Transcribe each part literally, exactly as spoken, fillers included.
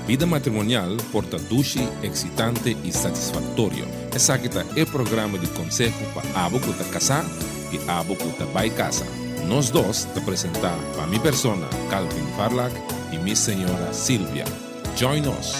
vida matrimonial porta dulce, excitante e satisfatório. Essa aqui é o programa de conselho para abo que está casar e abo que está vai casa. Nós dois te apresentar para minha persona, Calvin Farlak, e minha senhora Silvia. Join us.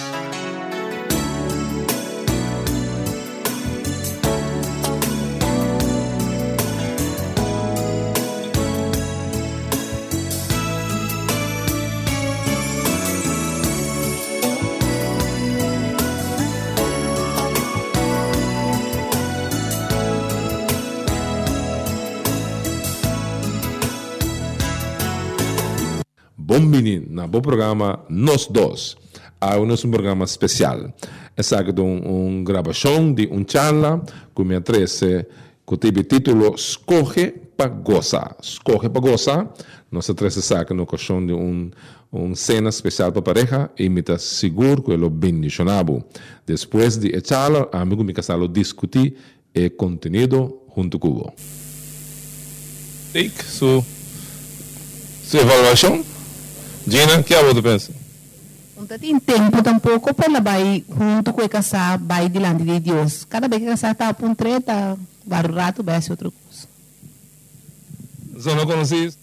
Bom menino, na bom programa Nós Dois. Há um programa especial. Essa é uma gravação de uma charla que me atrece que teve título Escoge para Gozar. Escoge para Gozar. Nós atrece essa na ocasião de uma um cena especial para a pareja e me está seguro que ele bendicionado. Depois de a charla, amigo me casalo discutir o conteúdo junto com o Take sua evaluação. Gina, que é o que você pensa? Não tem tempo tampouco para vai junto com o casar, vai diante de Deus. Cada vez que o casar está a um treta, vários rato vai ser outra coisa. Você não conhece isso?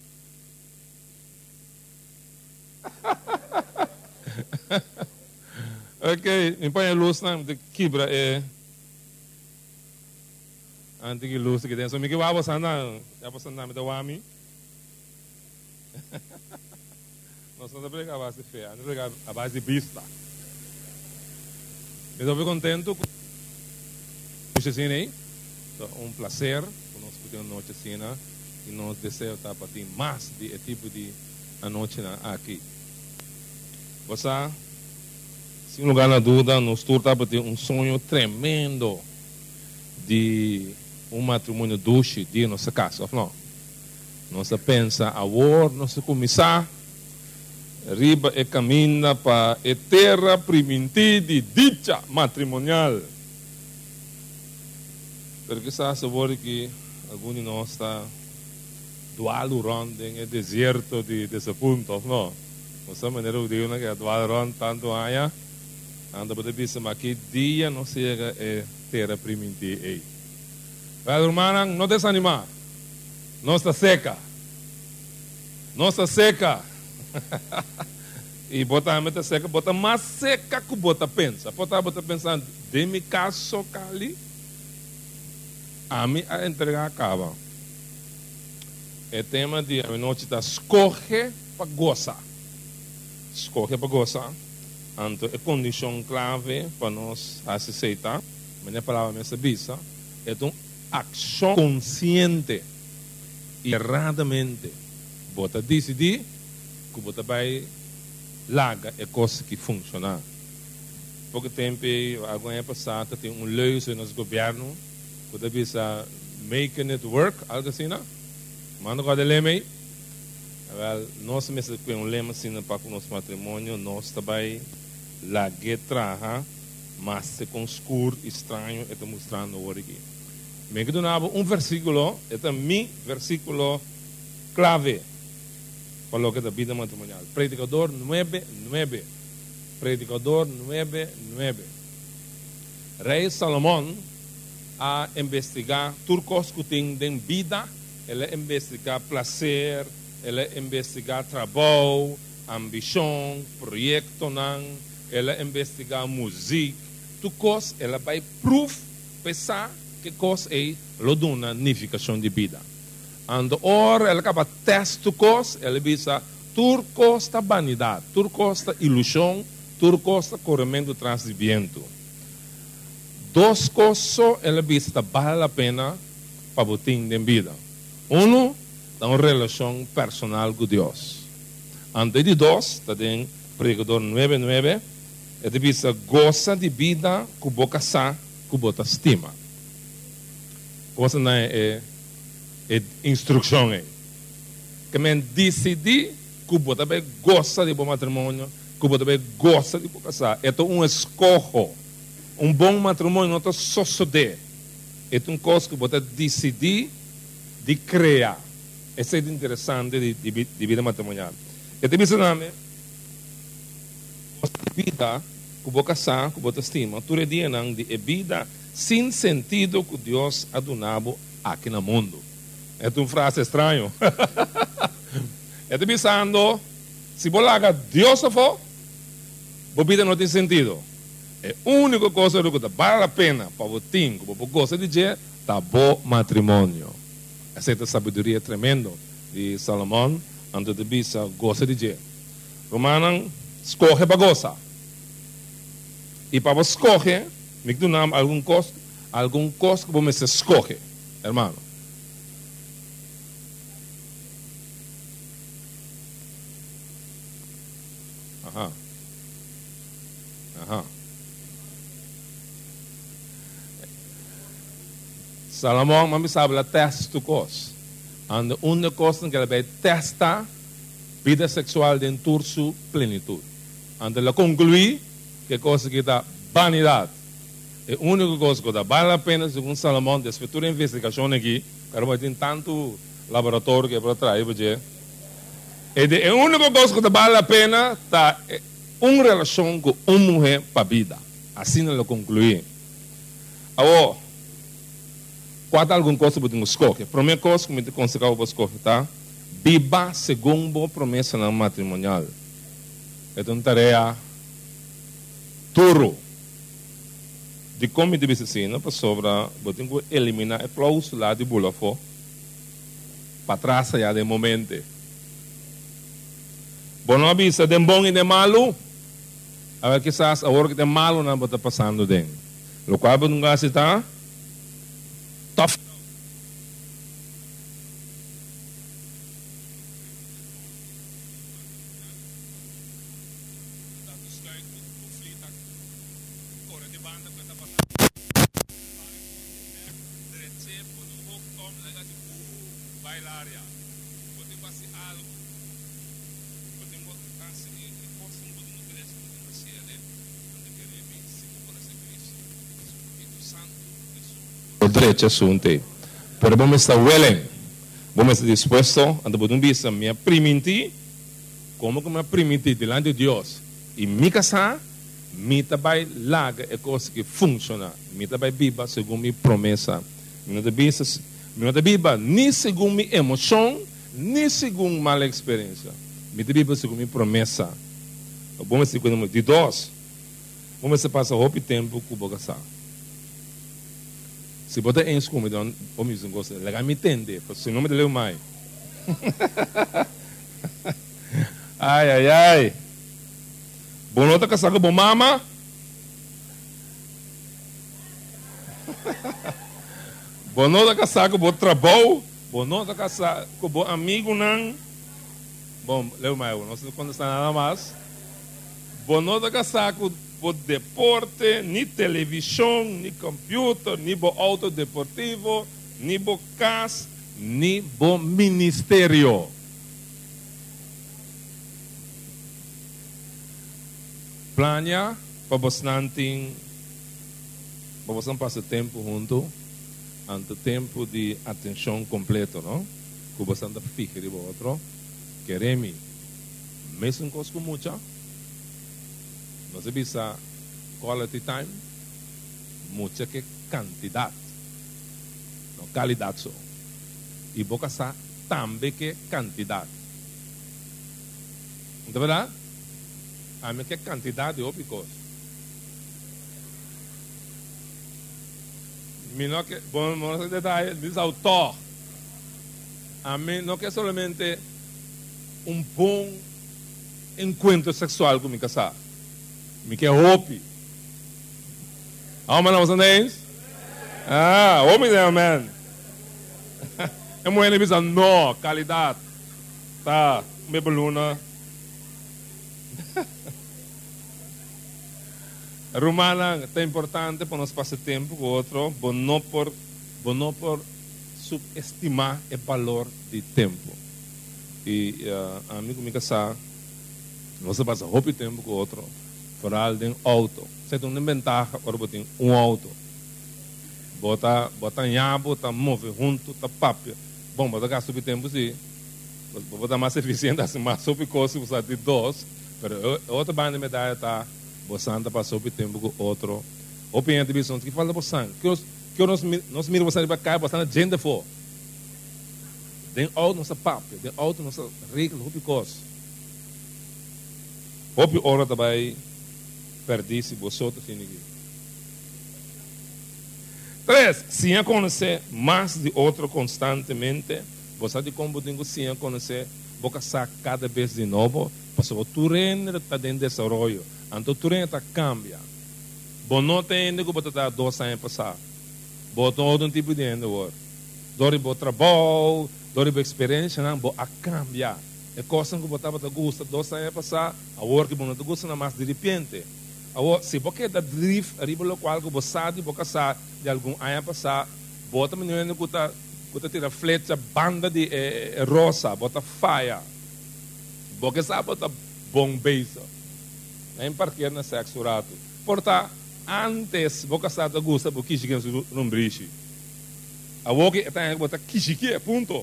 Ok, me põe a luz na quebra é antes que luz que tem. So me que vai passar na, já passar na me da wami. Nós não estamos a base de fé, nós estamos a base de vista. Eu estou contente com a cena aí. Um prazer, nós podemos noite cena e nós desejamos para ter mais de tipo de a noite aqui. Você, sem lugar na dúvida, nós estamos para ter um sonho tremendo de um matrimônio doce de nossa casa, não? Nós pensa agora, nós começar riba e caminha para a terra primitiva de dicha matrimonial. Porque sabe sabor que alguns de nós está dual ronde em deserto de desaponto, não? Nossa maneira de dizer que dual ronde tanto aia, anda para dizer mas que dia não chega a terra primitiva. Mas irmã, não desanimar, não está seca, não está seca. E bota a meta seca, bota mais seca que bota pensa. Bota bota pensando, de mi caso cali, a mim a entregar acaba. É tema de a noite da escorre para gozar. Escorre para gozar. Então, é condição clave para nós aceitar. Mas a palavra me sabisa. É uma ação consciente. Erradamente. Bota decidir. Que você vai largar é coisa que funciona. Pouco tempo, agora é passado, tem um lei no nosso governo, que você bisa making it work, algo assim, não? Manda com a lema aí. Nós mesmos com um lema assim para o nosso matrimônio, nós também largar traha, mas se com escuro, estranho, está mostrando o aqui. Me que um versículo, é mi versículo clave. Para que da vida matrimonial. Predicador nueve nueve. Predicador nueve nueve. Rei Salomão a investigar turcos que têm de vida, ele investigar prazer, ele investigar trabalho, ambição, projeto, ele investigar música, turcos, ele vai proof, pensar que coisa é loduna nificação de vida. And ora ela acaba teste cos, ela bisa tur costa vanidade, tur costa ilusão, tur costa correndo atrás de vento. Dois coisas ela bisa vale a pena para botar em vida. Um, é uma relação personal com Deus. Antes de dois, tem pregador nueve nueve, ela bisa goza de vida com boca sa, com boca estima. Coisa não é é instrução é que men decidi que você também gosta de bom matrimônio, que você também gosta de casar. É um escolho, um bom matrimônio não é só suceder. É uma coisa que você decidi de criar. Isso é interessante de, de, de vida matrimonial. E te disse nome, vida que você casar, que você estima, tu redia não de vida sem sentido que Deus adunabo aqui no mundo. É uma frase estranha. Eu estou pensando, se você haga Deus for, a vida não tem sentido. É a única coisa que vale a pena para você ter, que você gosta de dizer, tá bom matrimônio. Essa é a sabedoria tremenda de Salomão, onde de bisa gosta de dizer. Romano, escolhe para gozar. E para você escolher, me dá nome algum costo, algum costo que você escolhe, hermano. Aham. Aham. Salomão, mami sabe, ela testa o costo. And uma coisa que ela vai testar vida sexual dentro de sua plenitude. And ela conclui que coisa que dá vanidade. É a única coisa que dá vale a pena, segundo Salomão, das futuras investigações aqui, cara, tem tanto laboratório que é para trás, porque é a única coisa que dá vale a pena, tá uma relação com uma mulher para a vida. Assim ela conclui. Agora, qual é alguma coisa que você escolhe? A primeira coisa que eu consigo escolher, tá? Viva segundo a promessa no matrimonial. É uma tarefa duro. De como deve ser assim, para sobra, você tem que eliminar a cláusula de bulafo para trás já de momento. Bom, não avisa de bom e de malo, a ver quizás a hora que de malo não está passando dentro. O qual você não está tough. Derecho assunto. Pero vamos estar willing, vamos estar dispuestos, ando por um bisa me permitir, como que me permitir delante de Deus e me casar, me também larga é coisa que funciona, me também viva segundo minha promessa, me não bisa, me não viva nem segundo minha emoção, nem segundo mala experiência, me viva segundo minha promessa. Vamos estar de Deus, vamos estar passar o tempo com o casar. Se você é inscomodo, vamos dizer, você legal me entender, porque não me deu mais. Ai, ai, ai. Bom, não está casado com mama? Bom, não está casado com o trabalho? Bom, não está casado com o amigo, não? Bom, leu mais, não sei quando está nada mais. Bom, não está casado com o deporte, nem televisão, nem computador, nem o auto deportivo, nem o casa, nem o ministério. Plania para você não ter, para você não passar tempo junto, ante tempo de atenção completa, não? Que você não fica de outro, queremos, mesmo coisa com muita. Você bisa quality time, muita que quantidade, não qualidade só. E boca sa também que quantidade. Não é verdade? A mim que quantidade é outra coisa. Me não que bom, não detalhe, diz autor. A mim não que somente um bom encontro sexual com me casar. Me quer hope. Amen, não é isso? Ah, homem é amen. É muito ele não, qualidade. Tá, me beluna. Romana é importante para nós passar tempo com o outro, mas não por, não por subestimar o valor de tempo. E uh, amigo me casar, você passa hope tempo com o outro. Vooral den auto. Você tem uma vantagem para botar um auto. Bota, bota nhabo, tá move junto, tá papel. Bom, bota gasta o tempo sim. Bota mais eficiente, assim, mais sobre coisa, você de dois. Pero outra banda medalha tá, bostante passou por tempo com outro. Opinião de visão que fala bostante. Que nós que nós nós miramos bostante para cá, bostante gente for. Den out nossa papo, den out nossa regra, hopi coisa. Hopi hora também perdi se você outro finigi. Três, se conhecer mais de outro constantemente, você de como tem que se conhecer, você sabe cada vez de novo, porque o terreno está em desenvolvimento, então o terreno está cambia. Você não tem que você está dois anos passar, você tem outro tipo de endo, dori bo trabalho, dori bo experiência, não, você a cambia. É coisa que você estava gosta dois anos passar, a hora que você não gosta não mais de repente. Se você está drift, arriba do qual você sabe, você sabe de algum ano passar, você também não é que você Você tira flecha, banda de eh, rosa, bota faia. Porque sabe, bota bombeisa. Nem parquear na sexo rato. Porta, antes, você sabe, gosta, porque chega no rumbriche. A woke, tem que botar kishiki, ponto.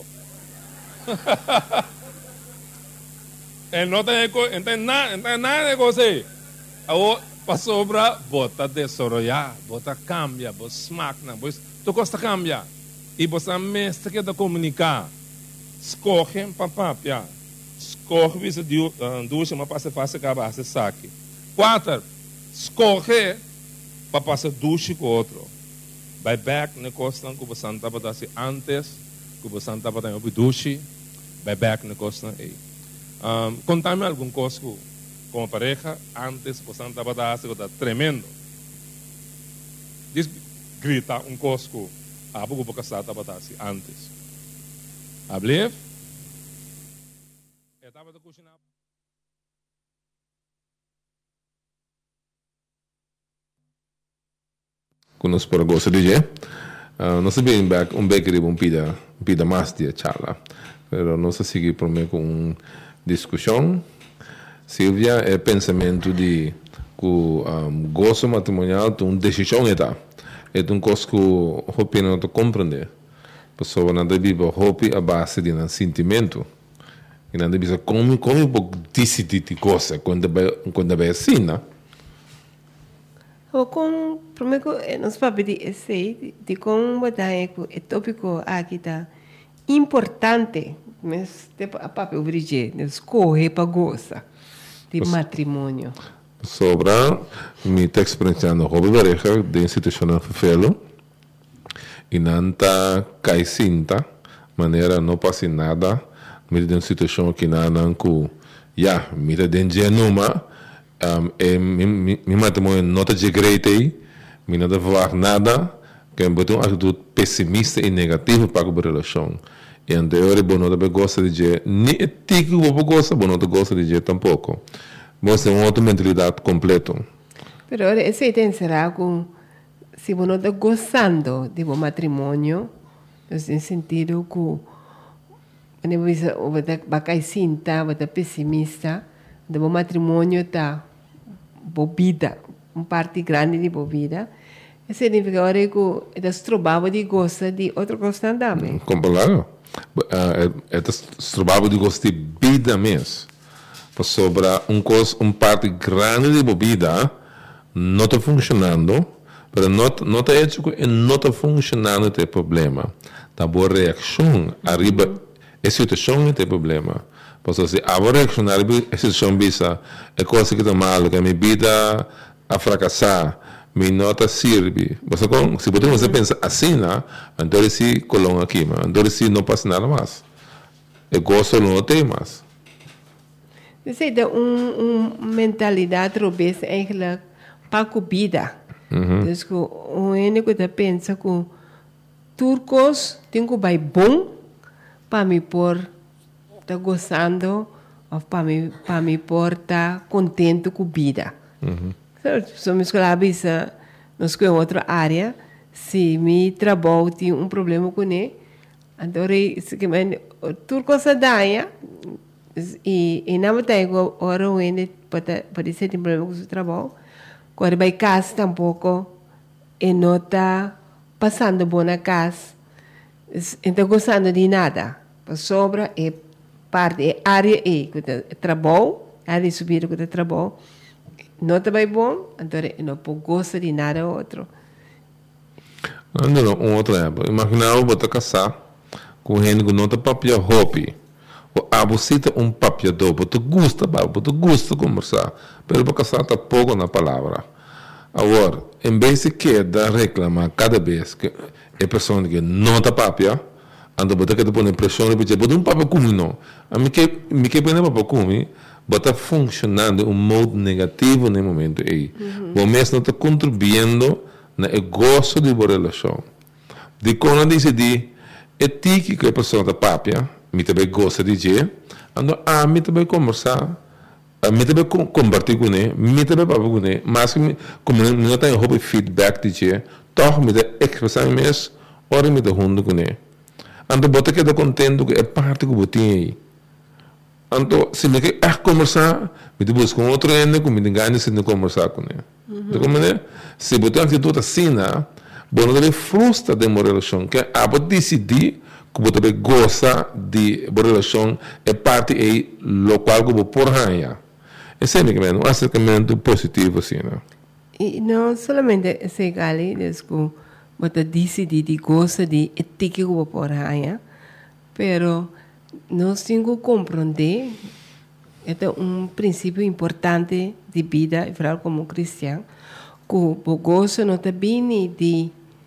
E não tem nada, não tem nada de você. A woke, passou para, bota desarrollar, bota cambia, bota smack, bota, tu gosta cambia. E você mestre que da comunicar, escorre para papia, escorre isso de duas uma passa fácil acabar se saque. Quatro, escorre para passar duas com outro. Vai back na costa que você não estava assim antes, que você não estava dando duas, vai back na costa aí. Contame algum coisa com a pareja antes você não estava dando assim tremendo. Diz grita um coisa Ah, vou boca sata batasi antes. Ablev? Estava da cozinha. Conosco para gosto de je. Não sei bem back um bakery um pida pida mais de charla. Pero não se sigue por mim com uma discussão. Silvia é pensamento de que um, gosto matrimonial tem uma decisão eta. É um coisa que o hopi não compreende. A pessoa não deve hopi a base de um sentimento. E não deve como como pode decidir de coisa quando quando vai assim, né? O com primeiro nós vamos de esse de como botar é tópico aqui tá importante, mas tipo a papo obrigé, escolher para goza de matrimônio. Sobre minha experiência no hobby pareja de institucional fefelo e não tá caicinta maneira não passa nada mira de uma situação que não não que já mira de numa é mi matrimônio não tá de great aí mi não deve falar nada que é uma atitude pessimista e negativa para a relação e então eu não deve gostar de nem etico vou gostar não gosta de tampouco. Você tem uma outra mentalidade completa. Pero ahora esse tem será com se você está gostando de um matrimônio, no sentido que você vai cair cinta, vai estar pessimista, de um matrimônio está bobida, uma parte grande de bobida. Isso significa agora que está trabalhando de gosta de outra coisa também. Claro. É trabalhando de gosta de vida mesmo. Sobre um coisa, um parte grande de bebida não está funcionando, mas não não está hecho que não está funcionando tem problema. Tá boa reação arriba a situação tem problema. Porque se a boa reação arriba a situação bisa é coisa que está mal, que a minha vida a fracassar, me nota serve. Você com se você você pensa assim, né? Então se coloca aqui, mas então se não passa nada mais. É gosto não tem mais. Você tem uma um mentalidade robust eigenlijk para a vida. Uhum. Dus o único que pensa que turcos tem que vai bom para me por tá gostando ou para me para me por tá contente com a vida. Uhum. Somos claros nós com outra área se me trabalho tem um problema com ele, então se que men turcos a daia e e não tem agora o ene para para ser tem problema com o trabalho quando vai casa tampouco e não está passando bom na casa então gostando de nada para sobra é parte é área é trabalho ali subir com o trabalho, não está bem bom, então não pode gostar de nada outro. Não, não, um outro exemplo. Imagina eu vou casar com gente que não tem papel hobby. Ou abusita um papel do, você gosta, você gosta de conversar, mas para casar está pouco na palavra. Agora, em vez de que dar reclamar cada vez que a pessoa que não tem papel, anda botar que te põe pressão e dizer, botar um papel comigo não. A mim que me que põe papel comigo, botar funcionando um modo negativo no momento aí. Bom, mesmo não está contribuindo na gosto de boa relação. De quando decidir, é tique que a pessoa tem papel, me também gosta de dizer, ando a mim também conversar, a mim também compartilhar com ele, me também papel com ele, mas como não tem hobby feedback de dizer, toch me de expressar mesmo, ora me de junto com ele. Ando botar que está contente que é parte que eu tenho aí. Ando, se me quer conversar, me de buscar um outro ende, que me de ganho se não conversar com ele. De como é? Se botar uma atitude assim, bom, ele frustra de uma relação, que a pode decidir que você gosta de uma relação, é parte aí, lo qual que você por ganhar. Esse é um acercamento positivo, assim, né? E não somente esse gali, desculpa, você decidir de gosta de ética que você por ganhar, pero nós temos que compreender, é um princípio importante de vida, e falar como cristão, que o gosto não está bem de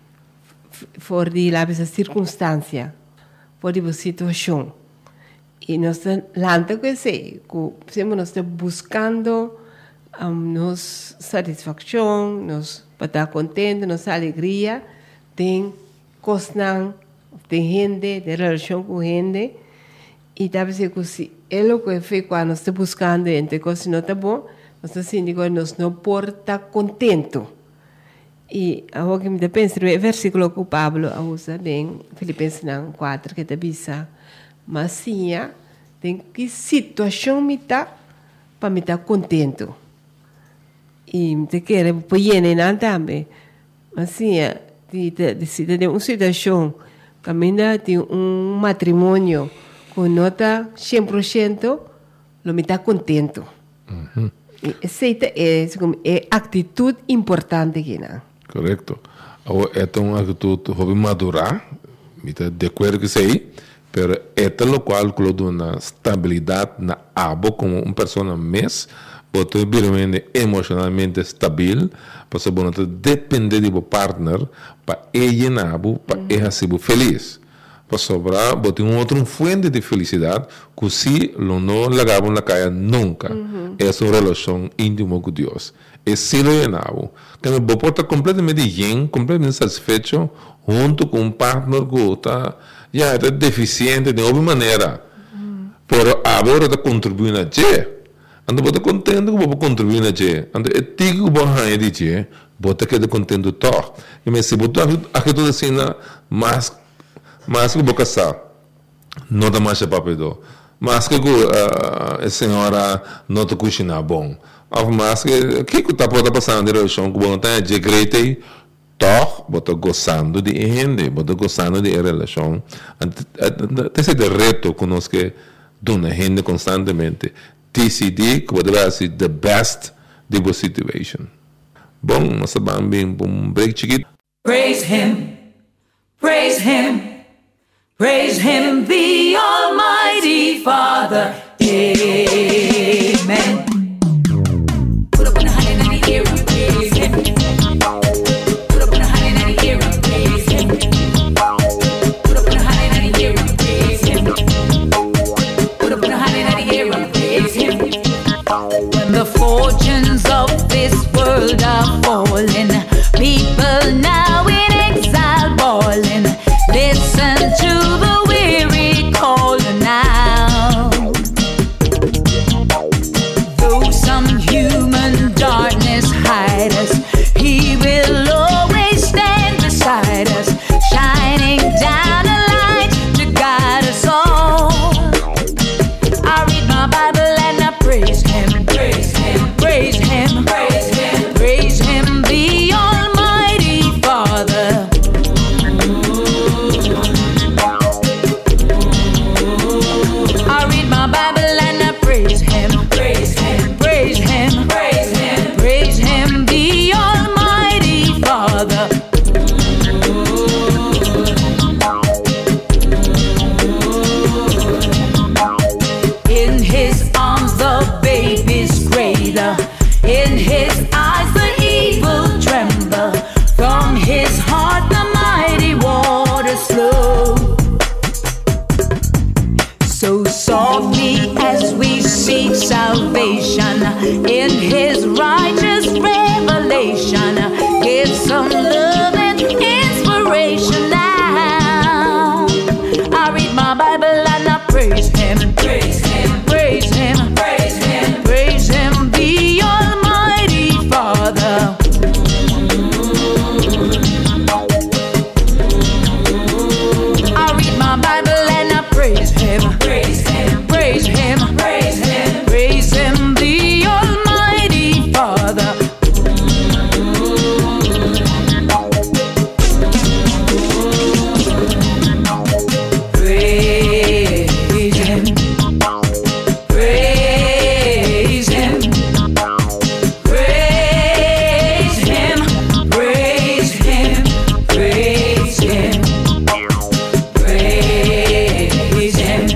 for de lá essa circunstância, for de situação. E nós lanta que sei, que sempre nós estamos buscando um, nos satisfação, nos para estar contente, nossa alegria, tem coisas, tem gente, tem relação com gente, e talvez que se é o que fez quando nós estamos buscando, entre coisas não está bom, nós assim digo, nós não por estar contente. E agora que me pensa, o versículo que o Pablo usa bem, Filipenses quatro, que te bisa, mas sim, tem que situação me tá para me estar contente. E me quer põe nem também, mas sim, de de de uma situação, caminha de um matrimônio com nota cem por cento, lo me está contente. Uhum. Essa é é atitude importante que não. Correto. É uma atitude hobby madurar, me está de acordo que sei, pero é o qual coloca uma estabilidade na abo como uma pessoa mês, você realmente emocionalmente estável, para você não depender do partner para ele na abo, para ele ser feliz. Para sobrar, você tem um outro fonte de felicidade que se não largava na caia nunca. Uhum. É uma relação íntima com Deus. É se lo llenavo. Quando você está completamente bem, completamente satisfeito, junto com um partner que está já é deficiente de alguma maneira. Uhum. Pero agora está contribuindo a você. Ando você contente que você contribui a você. Ando é tigo que você ganha de você, você quer contente todo. E se você acredita assim, mas mas que boca sa não dá mais papel, mas que a senhora não te cozinha bom, mas que que que tá pode passar na relação com bom tá de great toch bota gozando de gente, bota gozando de relação, esse é o reto que nós que dona gente constantemente decidir que pode ser the best de boa situation. Bom, nós vamos bem um break chiquito. Praise him, praise him. Praise him, the Almighty Father. Amen. Put up in the honey and the ear and praise him. Put up in the honey and the ear and praise him. Put up in the honey and the ear and praise him. Put up in the honey and the ear and praise him. When the fortunes of this world are falling, people now in exile boiling. Listen to the weary call now. Though some human darkness hide us, He will always stand beside us, shining down a light to guide us all. I read my Bible and I pray salvation in his righteous revelation. Get some love and inspiration now. I read my Bible and I praise him. Praise him. Praise him. Praise him. Praise him, the Almighty Father. I read my Bible and I praise him. Praise him. Praise him. Praise him. Praise him, the Almighty Father. Praise him. Praise him. Praise him. Praise him. Praise him. Praise him.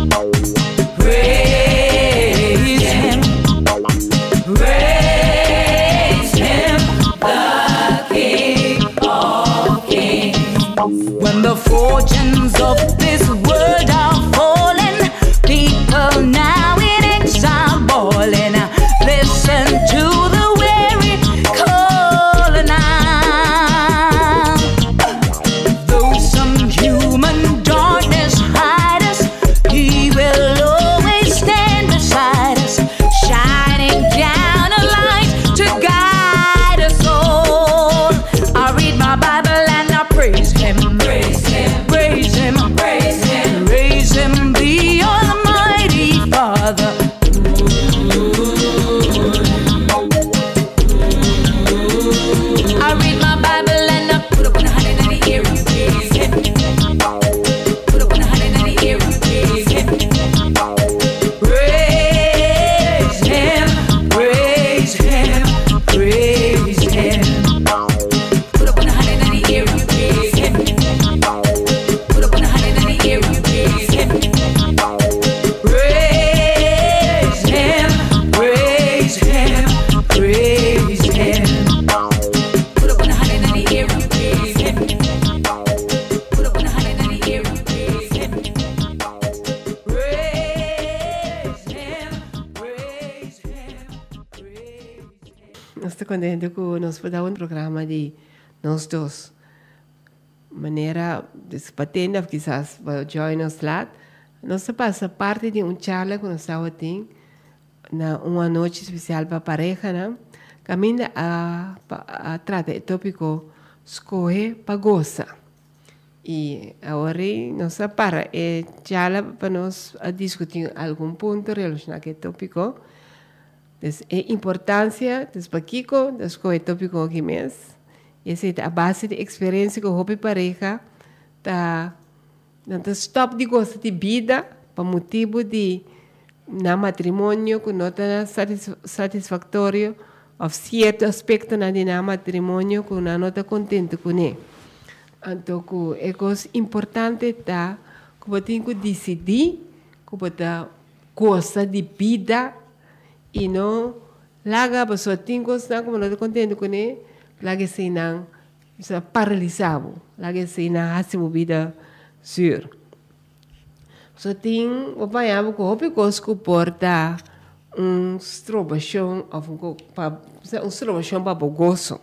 Praise him. Praise him, the King of Kings. When the fortunes of this world are falling, people now in exile bawling. Listen to the weary call now. Though some human darkness hide us, he will always stand beside us, shining down a light to guide us all. I read my Bible and I praise him. Praise him. Praise him. Praise him. Praise him, the Almighty Father. I read my Bible and I put up on a hundred and a year and praise him. Put up on a hundred and a year and praise him. Praise him. Praise him. Praise him. Put up on a hundred and a year and praise him. Put up on a hundred and a year and praise him. Praise him. Praise him. Praise him. Put up on a hundred and a year and praise him. Put up on a hundred and a year and praise him. Praise him. Praise him. Praise him. Nós estamos contentes que nós podemos um programa de nós dois. Maneira de se patenda, quizás vai join nos lá. Nós passa parte de um charla que nós estamos tendo na uma noite especial para a pareja, né? Caminha a, a, a trata o tópico escolhe para gozar. E agora nós para e charla para nós a discutir algum ponto relacionado com o tópico. Des, a importância des paquico des co tópico aqui mesmo. Essa é a base de experiência que o hobby pareja tá não stop de gosto de vida para motivo de na matrimônio que não está satisfatório ou certo aspecto na de na matrimônio que não está contente com ele. Então, é coisa importante tá que você tem que decidir que você gosta de vida e não larga a pessoa tem que estar como não está contente com ele, larga se não está paralisado, larga se não há sua vida sur. Só tem o pai abo que houve coisa que porta um strobação ou um strobação para o gozo.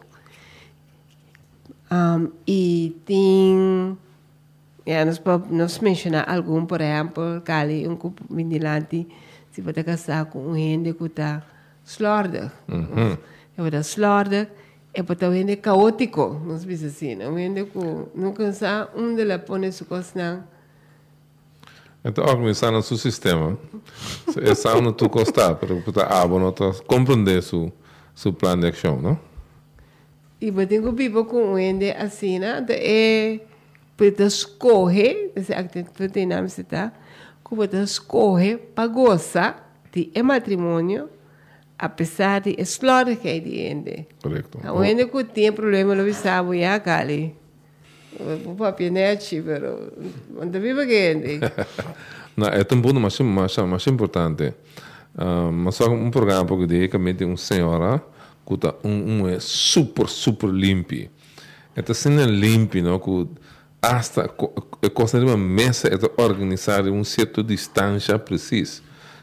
Um, e tem, yeah, nós nós mencionar algum, por exemplo, cali um grupo vinilante se você casar com um gente que está slordig, Mhm. é para slordig, é para um gente caótico, nós dizemos assim, um gente que nunca sabe onde ela põe sua coisa não. Então, organizar o seu sistema. É só onde tu gostar, para você ah, compreender seu seu plano de ação, não? E você tem que viver com um gente assim, né? É para escolher, esse acto tem nome se tá, que você escolhe para gozar de matrimônio, apesar de explorar que é de gente. Correto. O gente que tem problema, não sabe, já cali. O papi net, pero onde vive gente. Não, é um ponto mais mais mais importante. Uh, mas só um programa porque de que mete uma senhora que tá um, um é super super limpo. Então se não é limpo, não, que hasta é coisa de uma mesa é organizar um certo distância precisa.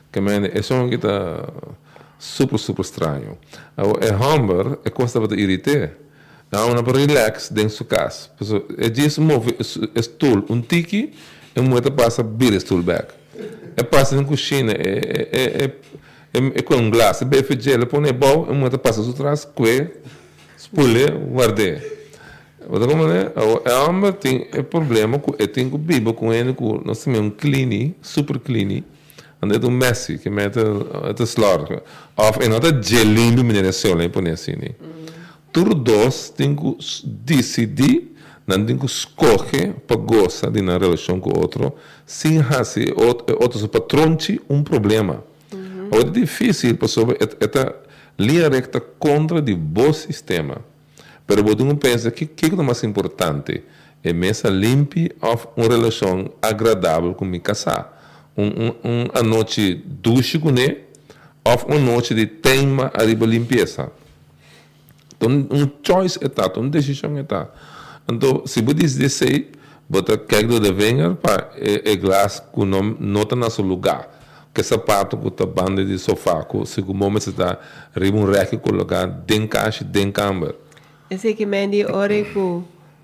Que mene, é só que tá super, super estranho. É hamburger, é coisa para te irritar. Não, não para relax dentro da sua casa. É disso, move o stool, um tiki, e muito passa vira o stool back. É passa na cozinha, é é é é com um glass, é bem feito, ele põe bom, e muito passa atrás, que spule, guarde. Outra como né, é hamburger tem é problema, é tem que bibo com ele, com nós temos um clean, super clean. En dit is messy, que mete het is slordig. Of en dat het gelimbe meneer Solen põe assim, né? Tudo dois tem que decidir, não tem que escolher para gostar de uma relação com o outro, sem fazer outros patronte um problema. Uhum. É difícil, pessoal, esta linha recta contra o bom sistema. Mas eu penso que o que é mais importante é mesmo limpar uma relação agradável com o casal. Um, um, um, a noite duche com ele, ou uma noite de tema arriba limpeza. Então, um choice é tá, uma decisão é tá. Então, se você diz sei, você quer que de venha para é glass que não não está no seu lugar, que sapato que está banda de sofá, que se o momento está arriba um rack colocar dentro caixa, dentro câmara. Esse que me diz ora que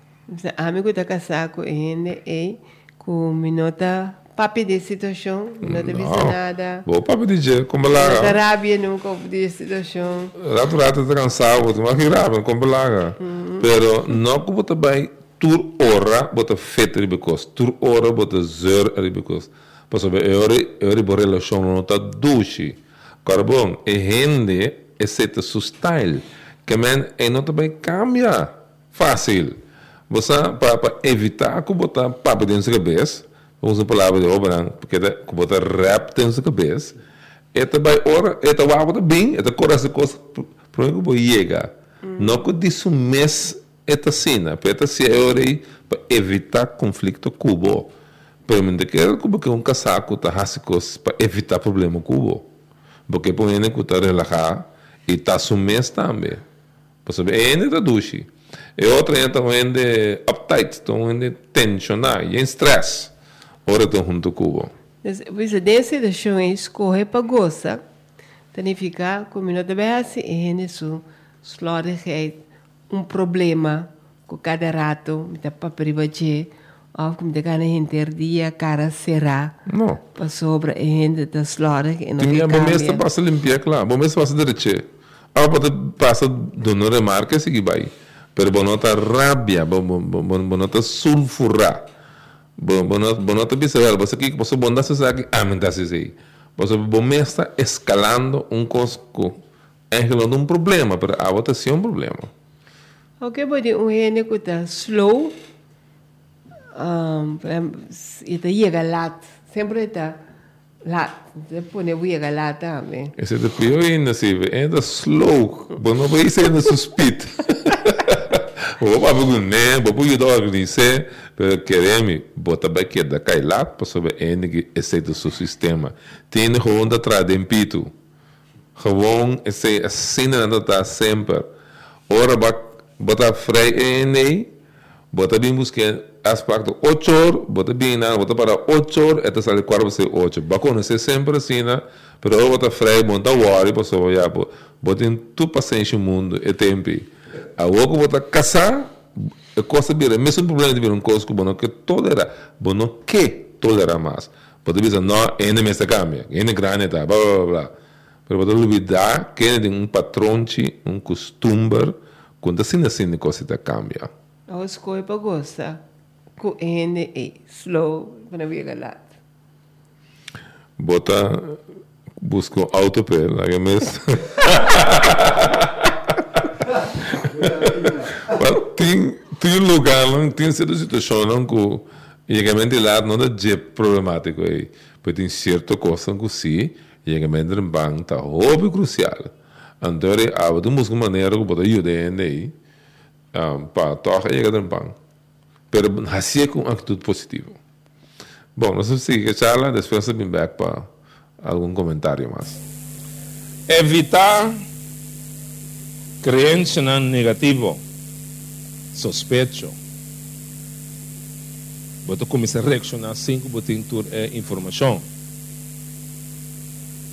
amigo da casa com ele é que me nota papi de situação, não te viste nada. Bom, papi de jeito, como lá. Na Arábia nunca houve de situação. Rato rato está cansado, mas que rápido, como lá. Pero não que você vai tur hora, você feito de becos, tur hora você zer de becos. Porque eu eu eu relação não está duche. Carbon, é rende, é seta seu style, que man é não também cambia fácil. Você para evitar que você papi dentro da cabeça. Vamos a palavra de obra, porque é que botar rap tem sua cabeça. É também ora, é também algo bem, é também essa coisa para que vou chegar. Não que disso mês esta cena, para esta se é para evitar conflito cubo. Para mim de que é que um casaco tá hasicos para evitar problema cubo. Porque por ele que tá relaxar e tá mês também. Para saber ainda da duche. E outra ainda também de uptight, também de tensionar, e em stress. Ora estão junto com o Você desse deixou escorrer para gostar, significa que não deve assim é nisso, slordigheid, um problema com cada rato, me dá para privatir, ou como de cada interdia, cara será, não, para sobre a gente da slordig e não tem a bom mês passa limpar claro, bom mês passa direito, ah pode passa dando remarca se que vai, pero bonota rabia, bonota sulfurar. Bom, bom, bom, não te percebe, você que você bom se sabe, ah, me dá se sei, você bom está escalando um cosco, é relando um problema, para a outra sim um problema. Ok, pode um gene que está slow, um, e está chega lá, sempre está lá, depois não chega lá também. Esse é o pior ainda, se ainda slow, bom não vai ser ainda suspeito. Vou para o né, vou para o organizar, pero queremos botar aqui da cailá para saber ainda que esse é o seu sistema. Tem gewoon da trás de pito, gewoon esse assim não está sempre. Ora botar freio ainda, botar bem buscar aspecto oito horas, botar bem nada, botar para oito horas, até sair quatro vezes oito. Bacana, é sempre assim, né? Pero eu botar freio, montar worry, para saber já, botar em tudo paciência no mundo é tempo. A outra botar caçar, é coisa bem, mesmo problema de ver um coisa que você não quer tolerar, você não quer tolerar mais. Você diz, não, ainda me está cambia, ainda grande tá, blá blá blá. Mas você olvidar que é um patrão, um costume, quando assim assim a coisa está cambia. A escolha para gostar, que ainda é slow, para ver galado. Bota, busca um autopé, lá que mesmo. tem tem lugar não tem certa situação não que realmente lá não é problemático aí porque tem certa coisa que sim realmente um banco tá óbvio crucial então há uma maneira que pode ajudar aí para tocar chegar no banco pero assim com atitude positiva bom nós vamos seguir a charla depois vem back para algum comentário mais evitar creencia negativa, sospecho. Você começa a reaccionar assim que você tem informação.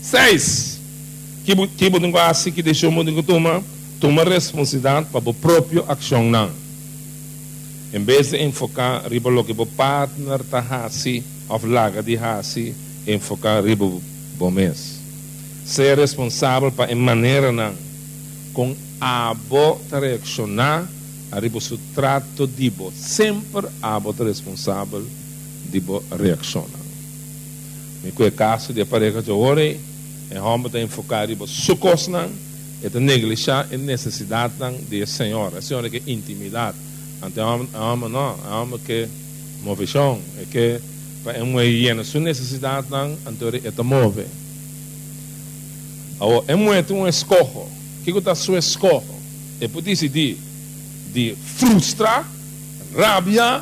Seis, que que bodem quase que deixou bodem tomar toma responsabilidade para a própria ação não. Em vez de enfocar riba lo que o partner tá hasi of laga de hasi, enfocar riba o mês. Ser responsável para em maneira não com a boa reaccionar a riba o trato de bo sempre a boa responsável de bo reaccionar. Me que caso de pareja de ore é homem de enfocar riba sucos não é de negligenciar a necessidade de Senhor, a Senhora que intimidade. Então, a alma não, a alma que move chão, é que para uma hiena sua necessidade então é de move. Agora, é muito um escorro. O que é o seu escorro? É por decidir de frustrar, rabia,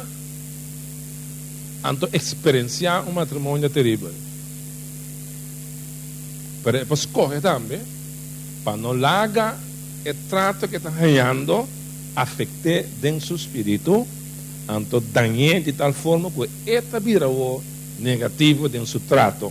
então experienciar um matrimônio terrível. Pero é para escorrer também, para não largar o trato que está ganhando, afecte dentro do seu espírito, então danhe de tal forma que esta vira o negativo dentro do seu trato.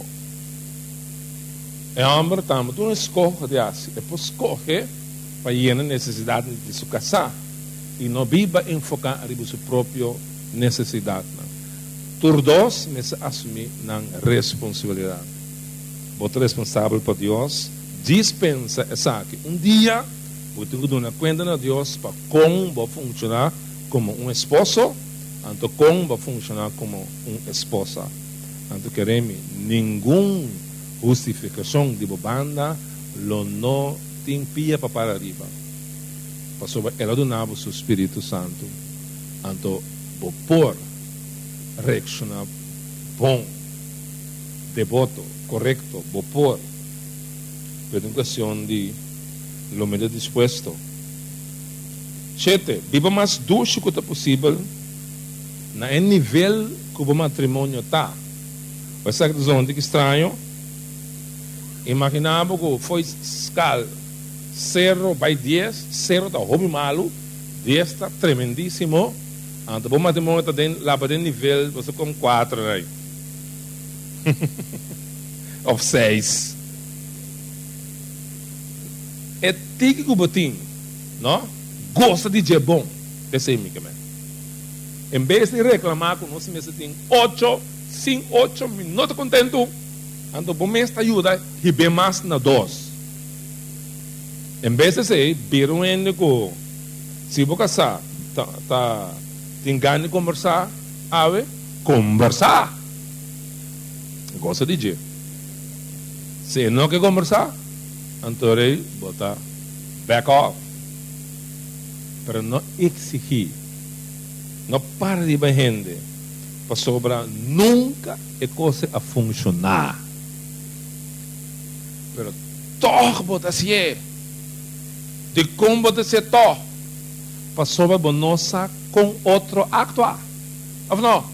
É homem também, tu não escorre de assim, é para escorrer para ir na necessidade de se casar e não viva enfocar a sua própria necessidade. Tur dois, me se assumir na responsabilidade. Você é responsável por Deus, dispensa essa que um dia você tem que dar conta a Deus para como vai funcionar como um esposo, então como vai funcionar como uma esposa. Então queremos nenhuma justificação de banda, lo não tem pia para para arriba. Para sobre ela donava o Espírito Santo, então vou por reaccionar bom, devoto, correto, vou por educação de lo menos dispuesto. Sete, viva mais dulce que possível na nível que o matrimônio está. Vai ser que zona que estranho. Imaginava que foi escala zero by dez, zero está hobby malo, dez está tremendíssimo. Então o matrimônio está lá para nível, você com quatro aí. Of seis. É tique que o botim, não? Gosta de ser bom, desse amigo. Em vez de reclamar com nós mesmos tem oito, cinco, oito minutos contento, então o mês te ajuda e bem mais na dois. Em vez de ser, viram ainda que se você casar, tá, tá, tem ganho de conversar, ave, conversar. Gosta de ser. Se não quer conversar, então ele bota back off. Para não exigir, não para de gente, para sobrar nunca é coisa a funcionar. Pero toch bota se é, de como bota se toch, para sobrar bonosa com outro actuar. Ou não?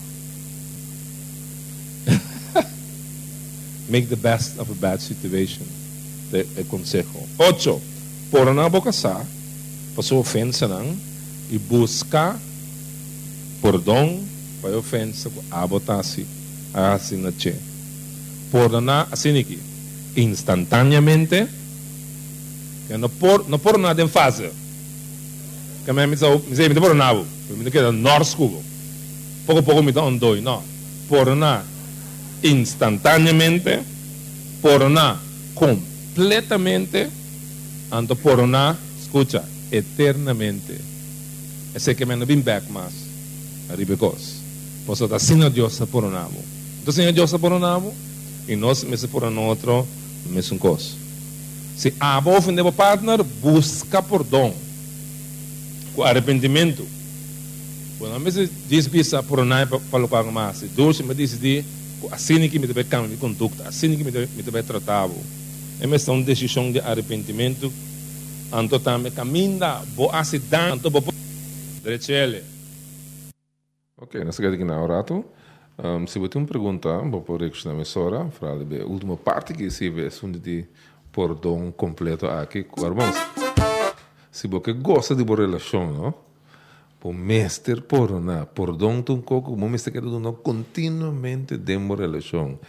Make the best of a bad situation. É consejo. Ocho, por não casar, passou ofensa não, e buscar perdão para a ofensa que abotasse a assim na che. Por não assim aqui, instantaneamente, que não por não por nada em fase. Que me diz, me diz, me por nada, me diz que é norte cubo. Pouco a pouco me dá um dois, não. Por não instantaneamente, por não completamente, ando por não, escucha, eternamente. Esse que me não vem back mais, arribecos. Posso dar sim a Deus por um amo. Então sim a Deus por um amo, e nós me por um outro, mesmo coisa. Se a boa ofender o partner, busca perdão, com arrependimento. Quando a mesa diz bisa por um amo para lugar mais, doce me diz de assim que me deve cambiar de conduta, assim que me deve, me deve tratar. É uma decisão de arrependimento. Anto também caminha, boa acidente, anto boa direito. Ok, nessa aqui na orato. Um, se você tem uma pergunta, vou por isso na emissora, para a última parte que se vê, é de perdão completo aqui, irmãos. Se você gosta de uma relação, não? Por mestre por na perdão tu coco, o mestre que tu não continuamente de uma relação.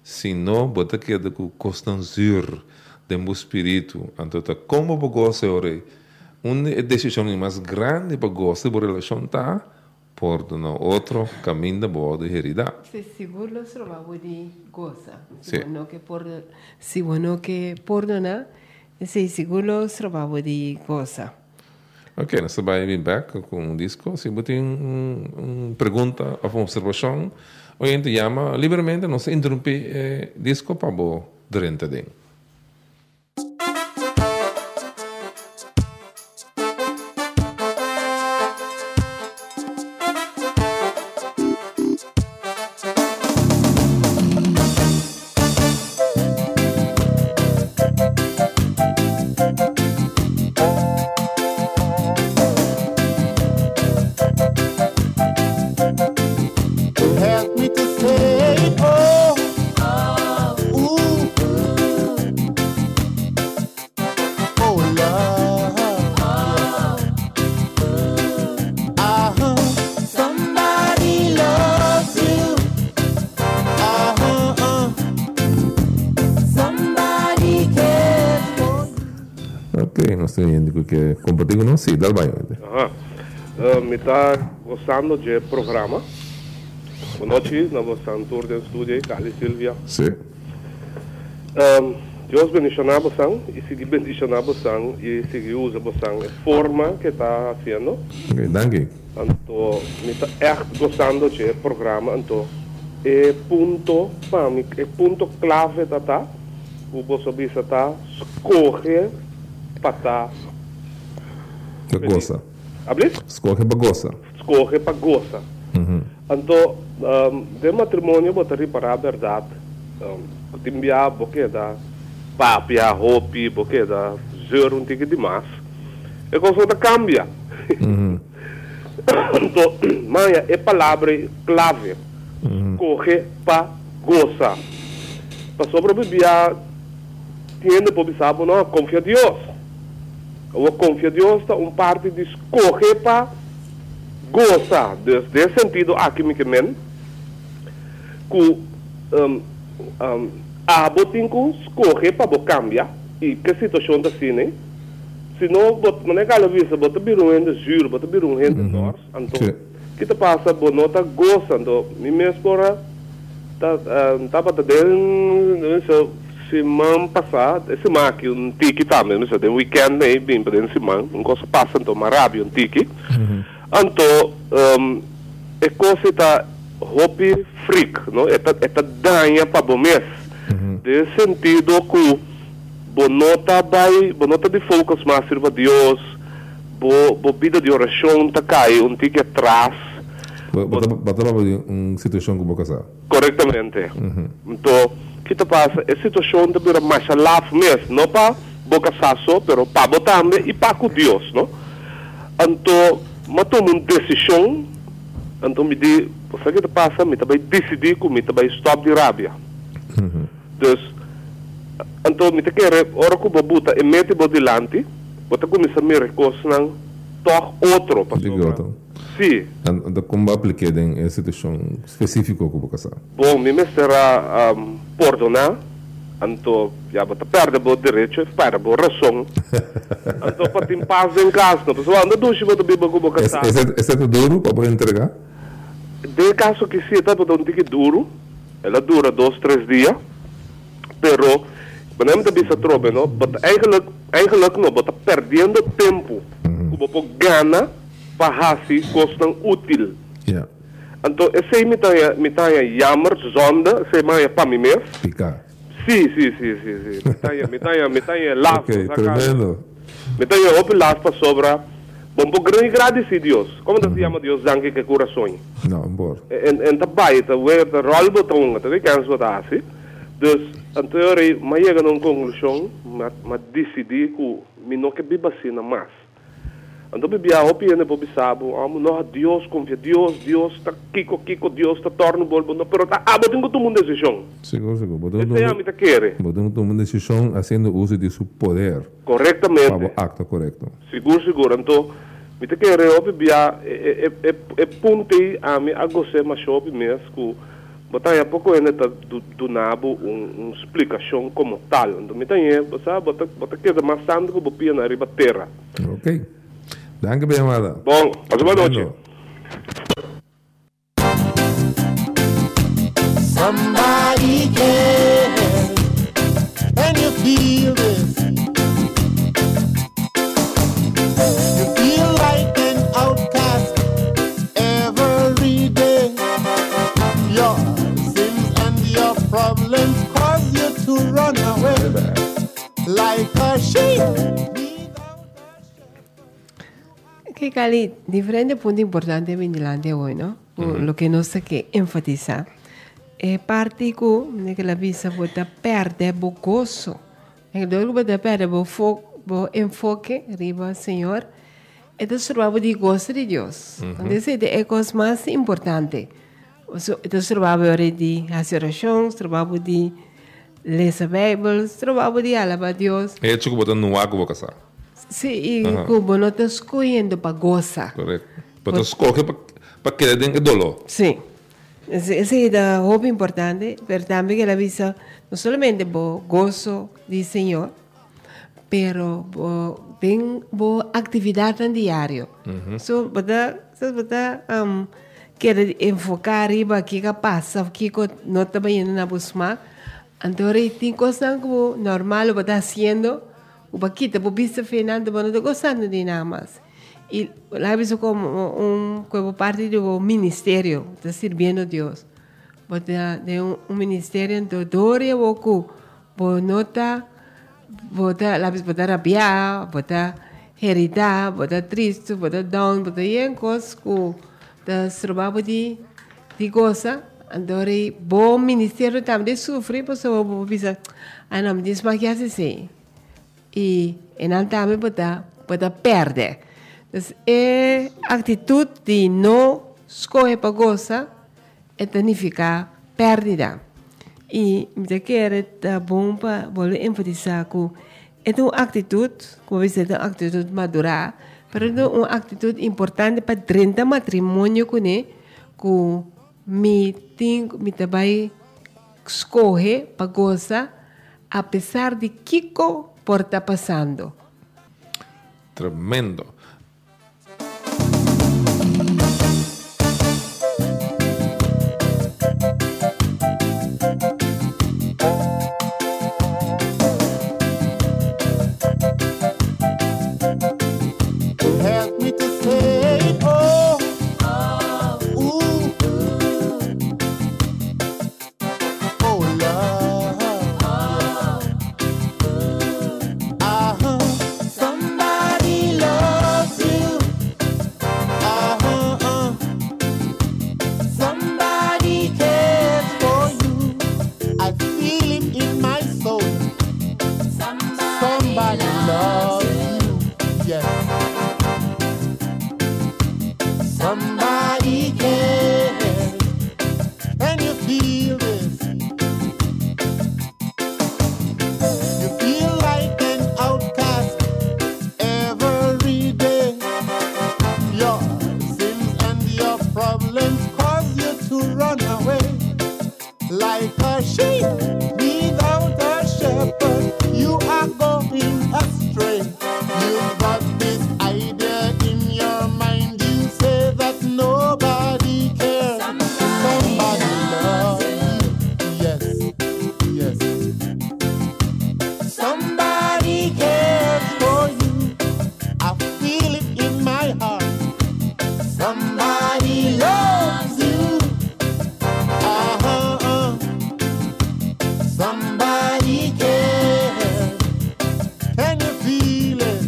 senão bota que de que constancia de meu espírito. Então, como para gostar ora, uma decisão mais grande para gostar da relação tá por no outro caminho da boa de heredar. Se seguro los trabalhos de goza. Sí. Si bueno que por si bueno que perdona, se seguro los trabalhos de goza. Ok, nós vamos vir back com um disco. Se você tem uma um pergunta ou uma observação, a gente chama livremente, nós interrompe eh, disco para o durante den. Help me to say, oh, ooh, oh, love, uh-huh. Somebody loves you, uh-huh, uh. Somebody cares for you. Ok, nós temos que compartilhar com nós, sim, dá bem. Aha. Uh, me está gostando do programa. Boa noite, nós estamos todos no estúdio, Carlos Silvia. Sim. Um, Deus bendicionar você e seguir bendicionar você e seguir usa você a forma que está fazendo. Ok, danke. Então, me está echt gostando do programa. Então, é ponto para mim, é ponto clave da tá. O você bisa tá escolher para tá. Bagosa. Abrir? Escolhe bagosa. Escolher para gostar. Uhum. Então, um, de matrimônio, botar para a verdade. Um, timbia, porque da papia, roupa, porque da zero um tique demais. E coisa da cambia. Uhum. Então, mas é palavra clave. Uhum. Correr para gozar. Para sobreviver, tem de poblar, não, confia em Deus. Ou confia em Deus, está um parte de correr para gozar. Nesse sentido, aqui me queimem, que um, um, a botinho escorrer para cambiar e que situação está assim, né? Se não, não é aquela vez, bota vir um rende juro, bota vir um rende nós, então, que te passa, bom, não está gostando, me mesmo para, tá, tá para dentro, semana passada, esse semana aqui, um tique também, não sei, tem weekend, né, bem para dentro semana, um coisa passa, então, maravilha, um tique, então, um, é coisa está hobby freak, não? É tá danha para bom mês. De sentido que bonota vai, bonota de focus mais sirva Deus, bo bo vida de oração tá cai um tique atrás. Bota bota uma situação que vou casar. Corretamente. Então, que te passa? É situação de vir mais love mês, não para boca sasso, pero para botar também e para com Deus, não? Então, mas toma uma decisão. Então me diz, você que te passa, me também decidir que me também stop de rábia. Uhum. Dus, então me te quer, ora que eu botar e mete bo dilante, bota começa a me recostar toch outro, pastor. Sim. Então como aplicar em essa situação específica que vou casar? Bom, me será um, perdonar. Então, já bota perde bo direito, para bo razão. Então para ter paz em casa, não pessoal, não deixe bo também bo bo casar. Esse é duro para poder entregar? De caso que sim, tá botando um tique duro, ela dura dois, três dias, pero quando a gente se trobe, não, bota eigenlijk, eigenlijk não, bota perdendo tempo, como uhum. gana para fazer coisas útil. Yeah. Então esse me tá me tá jammer, zonda, esse mais para mim mesmo. Picar. Sim, sim, sim, sim, sim. Me tá me tá me tá lá. Ok, tremendo. Me tá op lá para sobra. Bom, por grande agradecer Deus. Como te chama Deus, danke que coração. Não, embora. En en daarbij, de weer de rolbetongen, dat ik eens wat haast. Dus, en teorie, maar je gaat een conclusie, maar maar decidi que me não que biba sina mais. Então bebia hopi ene bobi sabo, amo no Deus confia Deus, Deus tá kiko kiko Deus tá torno bolbo, no pero tá abo tenho todo mundo decisão. Seguro, seguro. Esse é a mita querer. Podemos tomar uma decisão fazendo uso de seu poder. Corretamente. Para o acto correto. Seguro, seguro. Então me te querer hopi bia é é é ponte a me a gostar mais hopi mesmo que Botar a pouco ainda tá do do nabo um, um explicação como tal. Então me tem, você bota bota que mais santo que bopia na riba terra. Ok. Danke bem, Amada. Bom, passa boa noite. Somebody cares, and you feel this. You feel like an outcast every day. Your sins and your problems cause you to run away like a sheep. Que Cali, diferente punto importante en Finlandia hoy, ¿no? Mm-hmm. Lo que nos hay que enfatizar. É parte que que la visa bota perde o gozo. É que dole bota perde o foco, o enfoque riba Senhor. É do trabalho de gozo de Deus. Então esse é a coisa mais importante. É do trabalho de fazer orações, trabalho de ler a Bíblia, trabalho de alabar a Deus. É isso que bota no água boca sa. Sim, e como não está escolhendo para gozar. Correto. Bota escolher para para que den dolor. Sim. Ese es el hobby importante, pero también que la visa no solamente por gozo del Señor, pero por ten por actividad en diario. Mm-hmm. So, bota, so, bota, um, quiere enfocar arriba qué que pasa, qué que no está viendo na busma. Entonces, tem cosas como normal, lo está haciendo, o paquita, por vista final, pero no está gozando de nada más. Y la he visto como, un, como parte de un ministerio, está sirviendo a Dios. De, de un, un ministerio en Dodoria, boku, bo nota, bota, la vez bota rabia, bota herida, bota triste, bota down, bota yen cos, ku, da trabajo de, de goza. Andore, bo ministerio también sufre, pues bo bo bisa, ah não, me diz mais que assim. E en altame bota, bota perde. Então, é atitude de não escolher para gozar, é significar perdida. E me quero tá bom para voltar enfatizar que é uma atitude, como você é uma atitude madura, mas é uma atitude importante para trinta matrimônio com ele, que me tem, me também escolher para gozar, apesar de que por estar passando. Tremendo. Help me to say, oh, ooh, oh, love, uh-huh. Somebody loves you, uh-huh. Somebody cares for you. I feel it in my soul. Somebody loves you, yes. Somebody cares, and you feel this. You feel like an outcast every day. Your sins and your problems cause you to run away like a sheep without a shepherd. You are going astray. You've got this idea in your mind. You say that nobody cares. Somebody loves you. Yes, yes. Somebody cares for you. I feel it in my heart. Somebody loves you. Uh-huh. Somebody cares. Can you feel it?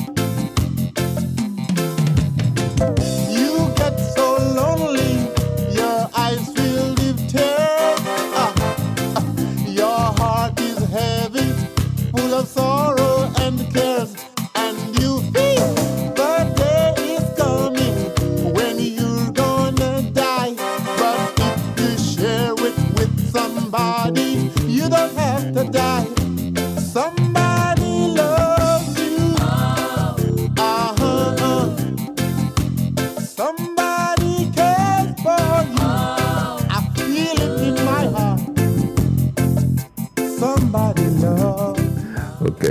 You get so lonely, your eyes filled with tears. Ah, ah, your heart is heavy, full of sorrow and cares. And you feel the day is coming when you're gonna die. But if you share it with somebody, you don't have to die. Somebody loves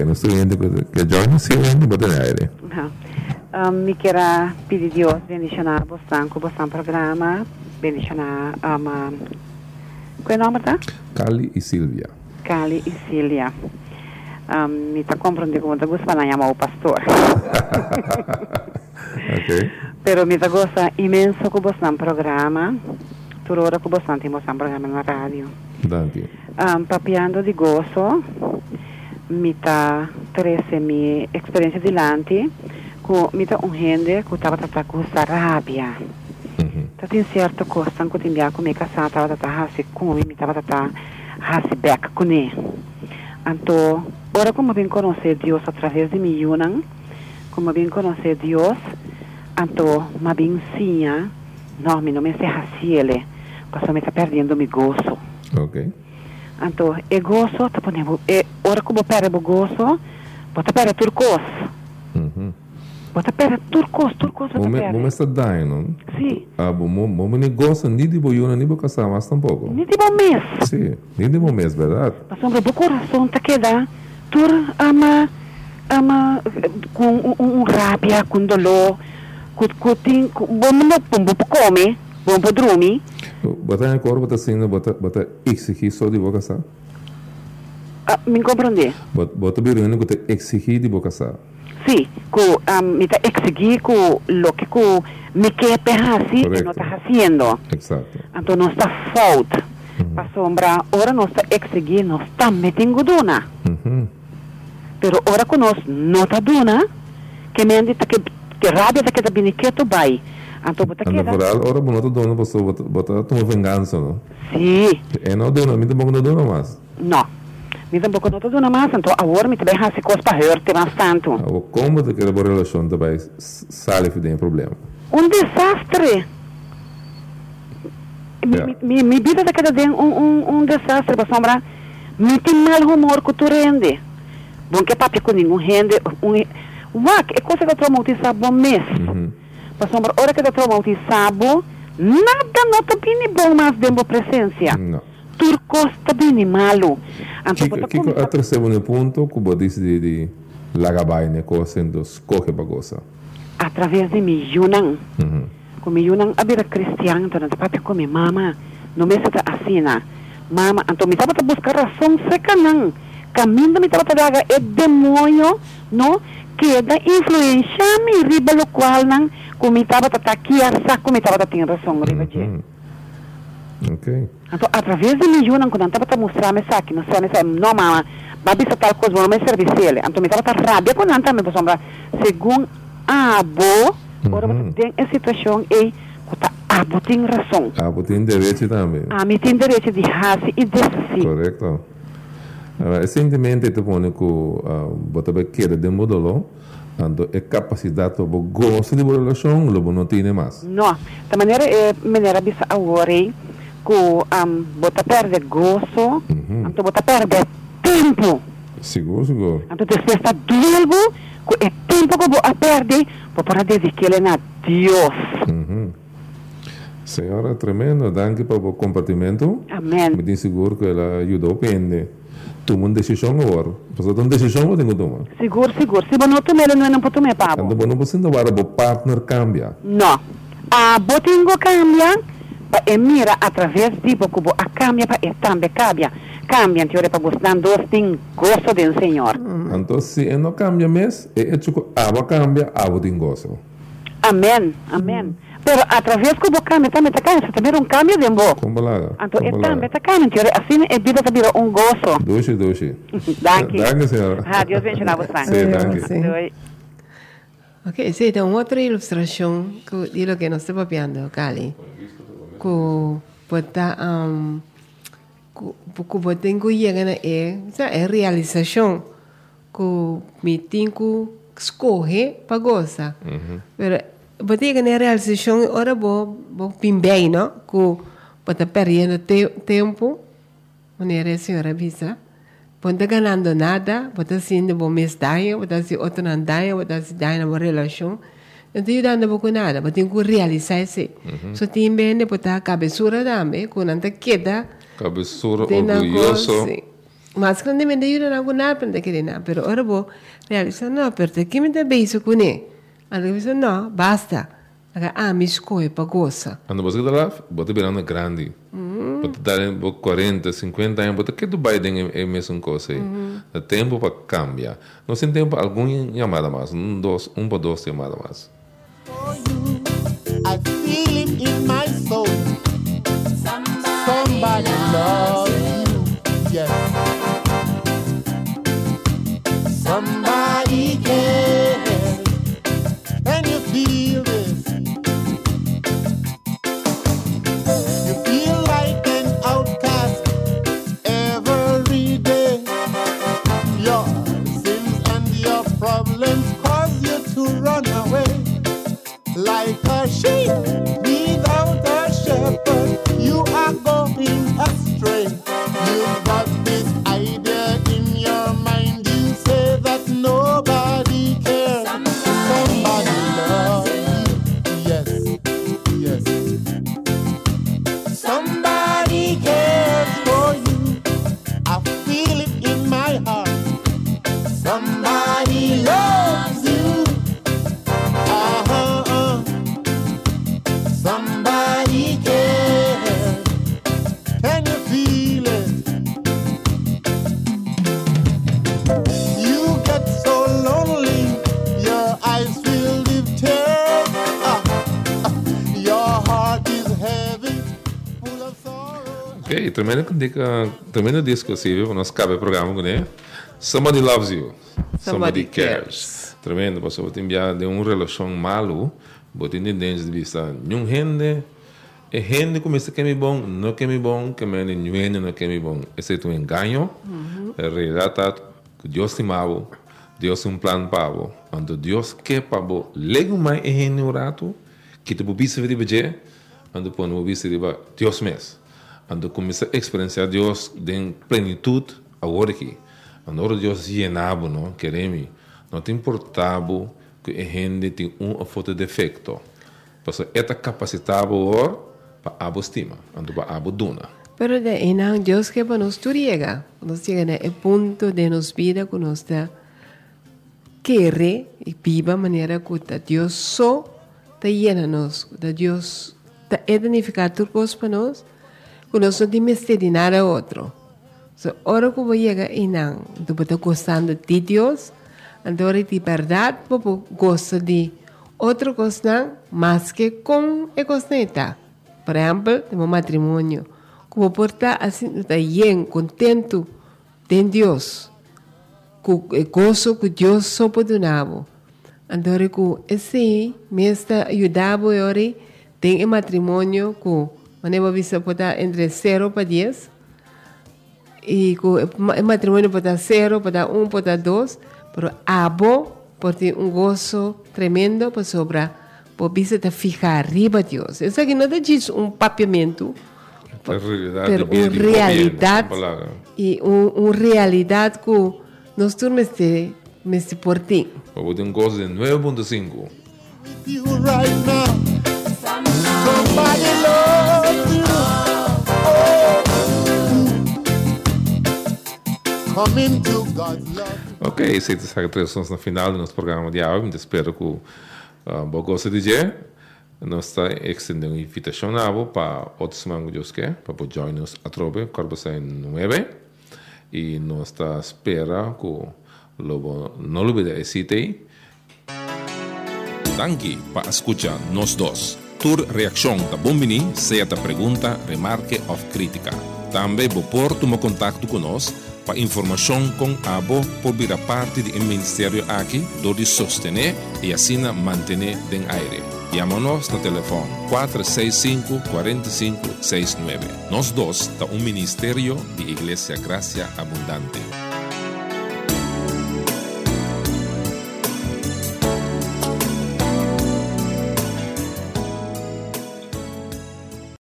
nuestro cliente que join sí en bote de aire. Ajá. Um, me quero pedir Deus bendicionar você com você programa, bendicionar um, um, qual é o nome tá? Cali y Silvia. Cali e Cília. Um, me está compreendendo como te gusta para chamar o pastor. Ok. Pero me gosta imenso com você programa. Toda hora com você temos um programa na rádio. Thank you. Um, papiando de gozo, me tá treze minha experiência dilante, com me tá um gente que estava tratando com essa rábia. Mhm. Tá tem certo coisa que tem bia com me casar, estava tratando assim com me, estava tratando assim back com ele. Então, ora como bem conhecer Deus através de mim, Yunan, como bem conhecer Deus, então, me bem ensina, não, me não me sei assim ele, porque me tá perdendo meu gozo. Ok. Então, e gozo, tá ponendo, e ora como perde o gozo, bota perde turcos. Mhm. Bota perde turcos, turcos bota Mome perde. mome está daí, ¿no? Sí. Ah, mome mome ni goza ni de boyuna ni boca más tampoco. Ni tipo mês. Sí, ni de momento, ¿verdad? Mas sobre o coração tá queda, tur ama, ama, com um, um rábia, com dolor, com, com, tem, com, bom não, bom, bom, come, bom, bom, dormir. Bota en el coro, bota sino, bota, bota exigir só de boca sa. Ah, me compreender? Bota, bota birino que te exigir de boca sa. Sim, com, um, me tá exigir com o que com me quer perhasi e não tá fazendo. Exacto. Então não está falta. Para sombra, ora não está exigir, não está metendo dona. Mhm. Pero ora que nós não está dona, que me andi que que rábia tá que tá biniqueto vai. Então bota Anda queda. por ahí, ahora bonito dono, pues bota, bota tu venganza, ¿no? Sim. Eh, no dono, a mí tampoco no dono más. Não. Me tampouco não está dona mais, então agora me também há se coisa para hurte bastante. Ah, como te quer boa relação também sale de problema. Um desastre. Yeah. Mi, mi, mi vida da cada dia um, um, um desastre, para sombra. Me tem mal humor que tu rende. Bom que papi com nenhum rende. Um, uac, é coisa que eu traumatizar bom mês. Mhm. Para sombra, hora que eu traumatizar nada não está bem bom mais dentro da presença. No. Turcos está bem malo. Então, Kiko, Kiko a terceiro ponto, que você diz de, de lagabai, né, coisa, então, escolhe para coisa. através de mi Yunan. Mhm. Como Yunan abira cristiano, então tá papi com minha mama, não me está assim, mama, então me estava a buscar razão seca não. Caminho me estava a dar é demônio, não, que da influência me riba lo qual não, como me estava a aqui a saco me estava a ter razão riba de. Mhm. Ok. Então através de mi Yunan quando estava a mostrar me saque, mostrar me saque, não mama, babi sa tal coisa, não me serviço ele. Então me estava a rabia quando anta me sombra, segundo a bo ora Mhm. tem a situação e que a bo tem razão. Ah, você tem direito também. A mim tem direito de raça e de si. Correto. Uh, recentemente, te pone que você vai querer de modelo, então é capacidade de gosto de relação, logo não tem mais. Não, da maneira é maneira bisa agora que um bota perde gosto, Mhm. então bota perde tempo. Seguro, seguro. Então depois está duelo, que é tempo que bota perde para dedicar a Deus. Mhm. Senhora, tremendo, danke para o compartimento. Amém. Me tenho seguro que ela ajudou bem. Toma uma decisão agora. Você tem uma decisão que tem que tomar. Seguro, seguro. Se você não tomar, não é não pode tomar, Pablo. Então, não você não vai o partner cambia. Não. A botingo cambia, e mira através de boco a cambia para e também cambia. Cambia, teoria para gostar dois tem gosto do Senhor. Então, se não cambia mais, é hecho que a água cambia, a água tem gosto. Amém, amém. Pero através que o cambia também está cambia, também um cambio de boco. Como lá? Então, e também está cambia, teoria assim é vida também um gosto. Doce, doce. Danke. Danke, senhora. Ah, Deus bendiga você. Sim, danke. Sim. Oi. Ok, sim, então outra ilustração que de lo que nós estamos vendo, Cali, que botar um, que botar em que chega na é, é realização que me tem que escolher para gostar. Mas botar na realização ora bo bo pimbei, não? Que botar perdendo te, tempo, maneira a senhora visa. Ponta ganhando nada, bota sendo bom mês daia, bota se outro não daia, bota se daia na relação. Então, eu dando pouco nada, bota tem que realizar isso. Só tem bem, bota a cabeçura também, quando não queda. Cabeçura, tem na orgulhoso. coisa, Mas grandemente ayudan a alguna para que na, pero ahora vos realizas no, pero te que me te beso con él. Ando que dice no, basta. Aga ah, mi escoe pa goza. Quando você está lá, você virando grande. Você dar quarenta, cinquenta anos, você quer do Biden é a mesma coisa. O tempo para cambiar. Não tem tempo algum chamada mais, um dois, um para dois chamada mais. For you, I feel it in my soul. Somebody loves you, yes. Somebody cares, and you feel it. You feel like an outcast every day. Your sins and your problems cause you to run away. Like a sheep without a shepherd, you are going astray. You've got this idea in your mind, you say that nobody cares. Somebody loves you, yes, yes. Somebody cares for you, I feel it in my heart. Somebody loves you, uh-huh, uh. Somebody cares, can you feel it? You get so lonely, your eyes filled with tears. Ah, ah, your heart is heavy, full of sorrow. Ok, tremendo dica, tremendo disco assim, viu? Nós cabe o programa, né? Somebody loves you. Somebody cares. Tremendo, você vai enviar de uma relação malo, você tem de vista, nenhum gente, é gente como esse que é bom, não que é bom, que é nenhum não que é bom. Esse é um engano. A realidade é que Deus te amava, Deus tem um plano para você. Quando Deus quer para você, lego mais é gente no rato, que te pode ser de quando pode não ser de Deus mesmo. Quando começa a experienciar Deus em plenitude, agora aqui. Quando Deus llenava, não queremos, não te importava que a gente tem uma foto de defeito. Porque esta capacidade agora para a estima, para a duna. Pero de ena Dios que para nos llega, nos llega a punto de nos vida que nos da querer y viva manera que Dios so te llena nos, de Dios te identificar tus cosas para nos, que nos no dimos de nada a otro. So, ahora como llega ena, tú puedes gozando de Dios, ahora de verdad, puedes gozar de otra cosa más que con el cosneta. Por ejemplo, tenemos matrimonio. Como por estar así, estar bien, contento de Dios. Con el gozo que Dios so perdonaba. Entonces, ese me está ayudando ahora en el matrimonio que manera vista por estar entre cero para diez. Y el matrimonio por estar cero, por estar uno, por estar dos. Pero abo, por tener un gozo tremendo por sobra. Por vista de fijar arriba Dios. Eso aquí no te dice un papiamento, pero una realidad y una realidad que nos turmes de mes por ti. Vamos ter um gozo de nueve ponto cinco. With you right now, somebody loves you. Oh. Come into God's love. Ok, essa é a tradução no final do nosso programa de hoje. Espero que Uh, bom gosto de dia. Nós estamos extendendo uma invitação para outros semanas que Deus quer, para poder join-nos a trobe, corpo sai nove. E nós estamos esperando que logo não olvide esse aí. Danke para escuchar nós dois. Tur reação da Bombini, seja a pergunta, remarque ou crítica. Também vou pôr tomar contato conosco para informação com a Abo por vir a parte do Ministério aqui, onde sostener e assim manter em aire. Chama-nos no telefone quatro seis cinco, quatro cinco seis nove. Nós dois da um Ministério de Igreja Gracia Abundante.